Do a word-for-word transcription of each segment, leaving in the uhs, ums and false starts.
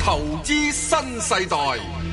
投資新世代。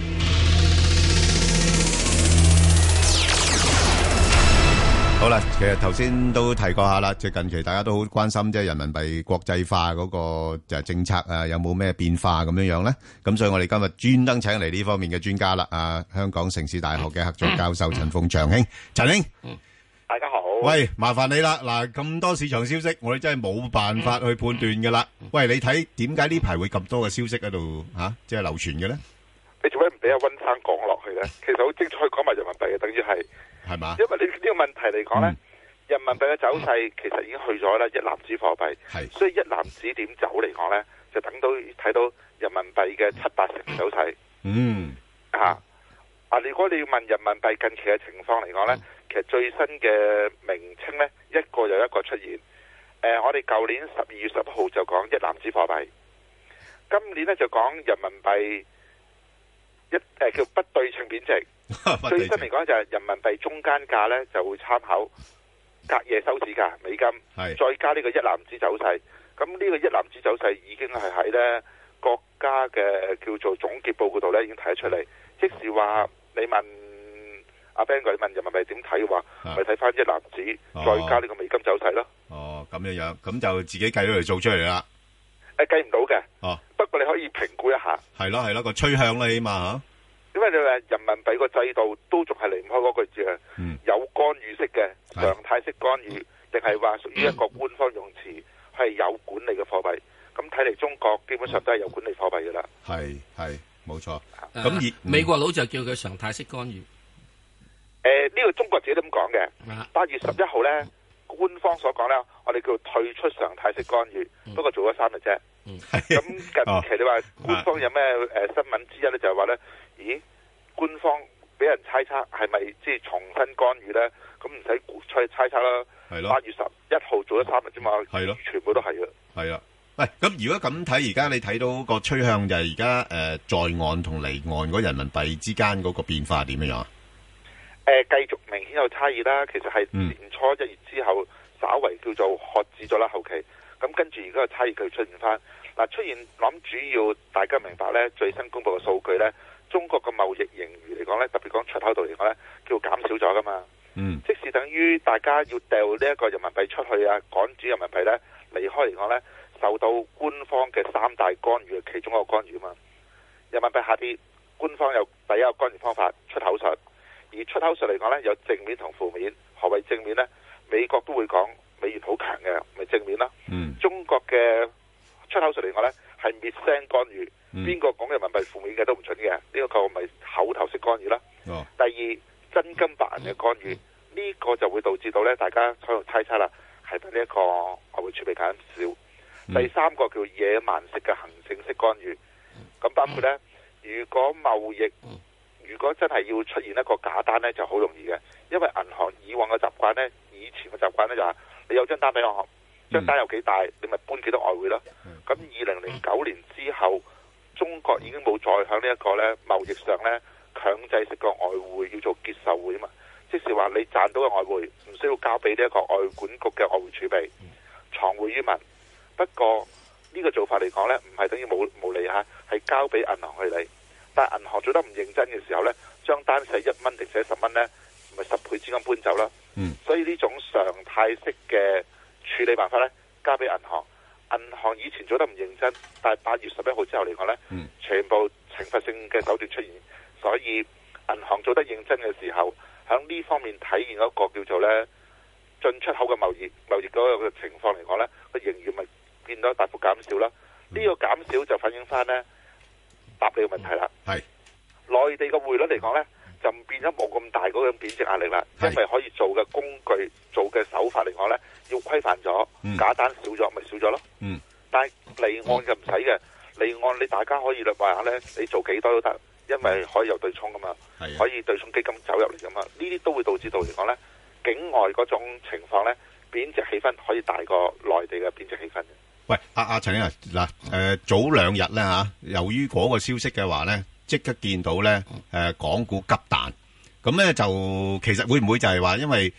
好啦，其實頭先都提過下啦，即係近期大家都好關心，即係人民幣國際化嗰個就係政策啊，有冇咩變化咁樣樣咧？咁所以我哋今日專登請嚟呢方面嘅專家啦，啊，香港城市大學嘅客座教授陳鳳祥兄，陳兄， 大家好。 喂，麻煩你啦，嗱，咁多市場消息，我哋真係冇辦法去判斷噶啦。喂，你睇點解呢排會咁多嘅消息喺度吓，即係流傳嘅咧？ 你做咩唔俾阿溫生講落去咧？其實好精彩講埋人民幣嘅，等於係。係嘛？因為你呢個問題嚟講咧，嗯、人民幣嘅走勢其實已經去咗咧一籃子貨幣，係，所以一籃子點走嚟講咧，就等到睇到人民幣嘅七八成走勢。嗯，啊，啊，如果你要問人民幣近期嘅情況嚟講咧，嗯、其實最新嘅名稱咧一個又一個出現。誒、呃，我哋舊年十二月十一號就講一籃子貨幣，今年咧就講人民幣一誒、呃、叫不對稱貶值。最新嚟講就係人民幣中間價咧就會參考隔夜收市價美金，再加呢個一籃子走勢。咁呢個一籃子走勢已經係喺咧國家嘅叫做總結報告度咧已經睇得出嚟。即是話你問阿 Ben 哥，你問人民幣點睇嘅話，咪睇翻一籃子、哦、再加呢個美金走勢咯。哦，咁樣樣，咁就自己計咗嚟做出嚟啦。誒，計唔到嘅。哦，不過你可以評估一下。係咯係咯，個趨向啦起碼吓。因為你話人民幣個制度都仲係離唔開嗰句字啊，嗯、有干預式嘅常態式干預，定係話屬於一個官方用詞係有管理嘅貨幣。咁睇嚟中國基本上都係有管理貨幣噶啦。係係冇錯。咁而、呃、美國佬就叫佢常態式干預。誒、呃，呢、這個中國自己都咁講嘅。八月十一號咧，官方所講咧，我哋叫退出常態式干預，嗯、不過做咗三日啫。咁、嗯、近期你話官方有咩誒、呃、新聞之一咧，就係話咧。咦，官方俾人猜測係咪即係重新干預咧？咁唔使猜猜測啦。係咯。八月十一號做咗三日啫嘛。係咯。全部都係啊。係啊。喂，咁如果咁睇，而家你睇到個趨向就係而家誒在岸同離岸嗰人民幣之間嗰個變化點樣啊？誒、呃，繼續明顯有差異啦。其實係年初一月之後，稍為叫做喝止咗啦。後期咁跟住而家個差異佢出現翻嗱，出現諗主要大家明白咧，最新公布嘅數據咧。中國嘅貿易盈餘嚟講咧，特別講出口度嚟講咧，叫減少咗噶嘛。嗯，即是等於大家要掉呢一個人民幣出去啊，趕住人民幣咧離開嚟講咧，受到官方嘅三大干預嘅其中一個干預啊嘛。人民幣下跌，官方有第一個干預方法出口術，而出口術嚟講咧有正面同負面。何謂正面咧？美國都會講美元好強嘅，咪正面啦。嗯，中國嘅出口術嚟講咧係滅聲干預。邊個講人民幣負面嘅都唔準嘅，呢、這個咪口頭式干預啦。哦、第二，真金白銀嘅干預，呢、這個就會導致到咧，大家喺度猜測啦，係咪呢一個外匯儲備減少？嗯、第三個叫野蠻式嘅行政式干預，咁包括咧，如果貿易如果真係要出現一個假單咧，就好容易嘅，因為銀行以往嘅習慣咧，以前嘅習慣咧就係你有張單俾我，張單有幾大，你咪搬幾多外匯咯。咁二零零九年之後。中國已經冇再響呢一個咧貿易上咧強制式個外匯要做結售匯啊嘛，即是話你賺到嘅外匯唔需要交俾呢一個外管局嘅外匯儲備，藏匯於民。不過呢個做法嚟講咧，唔係等於冇冇利嚇，係交俾銀行去理。但係銀行做得唔認真嘅時候咧，張單寫一蚊定寫十蚊咧，咪十倍資金搬走啦。嗯，所以呢種常態式嘅處理辦法咧，交俾銀行。銀行以前做得唔認真，但係八月十一號之後嚟講呢，嗯、全部懲罰性嘅手段出現，所以銀行做得認真嘅時候，喺呢方面體現一個叫做呢進出口嘅貿易貿易嗰個情況嚟講呢，個盈餘咪變咗大幅減少啦。呢、嗯、個減少就反映翻呢答你嘅問題啦。係、嗯、內地嘅匯率嚟講呢，就變咗冇咁大嗰種貶值壓力啦，因為可以做嘅工具、做嘅手法嚟講呢，要規範咗，嗯、假單少咗，咪少咗咯。嗯，但係離岸就唔使嘅，離岸你大家可以話下呢，你做幾多都得，因為可以有對沖噶嘛，的可以對沖基金走入嚟噶嘛，呢啲都會導致到嚟講呢，境外嗰種情況呢，貶值氣氛可以大過內地嘅貶值氣氛。喂，阿阿陳啊，嗱，誒，早兩日咧吓，由於嗰個消息嘅話咧，即刻見到咧，誒，港股急彈，咁咧就其實會唔會就係話因為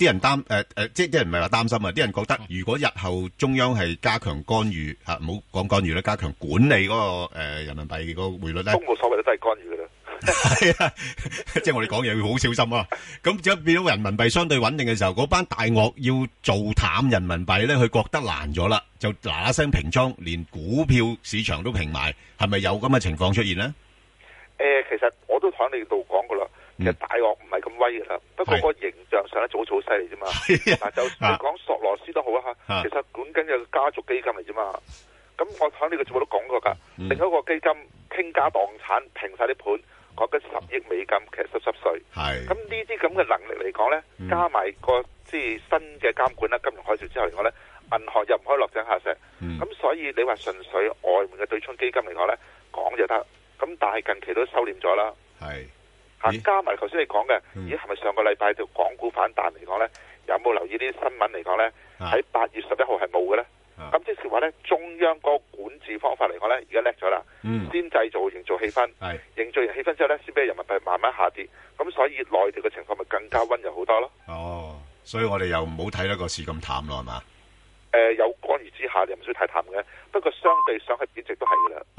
啲人擔誒誒，即係啲人唔係話擔心啊，啲人覺得如果日後中央係加強干預嚇，唔好講干預啦，加強管理嗰個誒人民幣個匯率咧， 都冇所謂，都係干預㗎啦。 係啊，即係我哋講嘢要好小心啊！咁只要變到人民幣相對穩定嘅時候，嗰班大鱷要做淡人民幣咧，佢覺得難咗啦，就嗱嗱聲平倉，連股票市場都平埋，係咪有咁嘅情況出現呢？ 誒，其實我都喺你度講過啦，其實大鱷唔係咁威㗎啦，不過個形象上咧就好似好犀利啫嘛。嗱，就你講索羅斯都好啊嚇，其實管緊嘅家族基金嚟啫嘛。咁我喺呢個節目都講過㗎，另一個基金傾家蕩產平曬啲盤。講緊十億美金，其實濕濕碎。係咁呢啲咁嘅能力嚟講咧，加埋個即係新嘅監管啦，金融海嘯之後嚟講咧，銀行又唔可以落井下石。咁、嗯、所以你話純粹外面嘅對沖基金嚟講咧，講就得。咁但係近期都收斂咗啦。係嚇，加埋頭先你講嘅，咦係咪上個禮拜就港股反彈嚟講咧？有冇留意啲新聞嚟講咧？喺八月十一號係冇嘅咧。咁即係話咧，中央嗰個管治方法嚟講咧，而家叻咗啦，先製造營造氣氛，營造完氣氛之後咧，先俾人民幣慢慢下跌。咁所以內地嘅情況咪更加溫柔好多咯。哦，所以我哋又唔好睇得個市咁淡咯，係嘛？誒、呃，有干預之下，你唔需要太淡嘅。不過相對上係貶值都係噶啦。